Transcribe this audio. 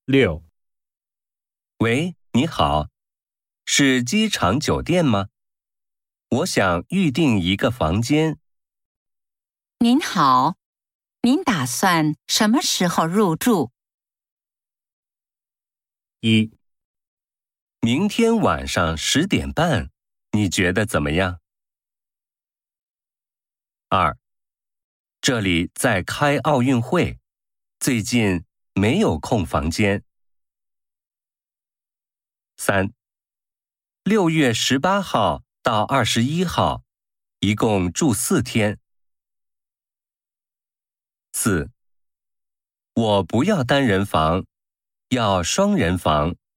6、 喂，你好，是机场酒店吗？我想预订一个房间。 您好，您打算什么时候入住 1、 明天晚上10点半，你觉得怎么样？2、这里在开奥运会，最近没有空房间。3、6月18号到21号，一共住4天。4、我不要单人房，要双人房。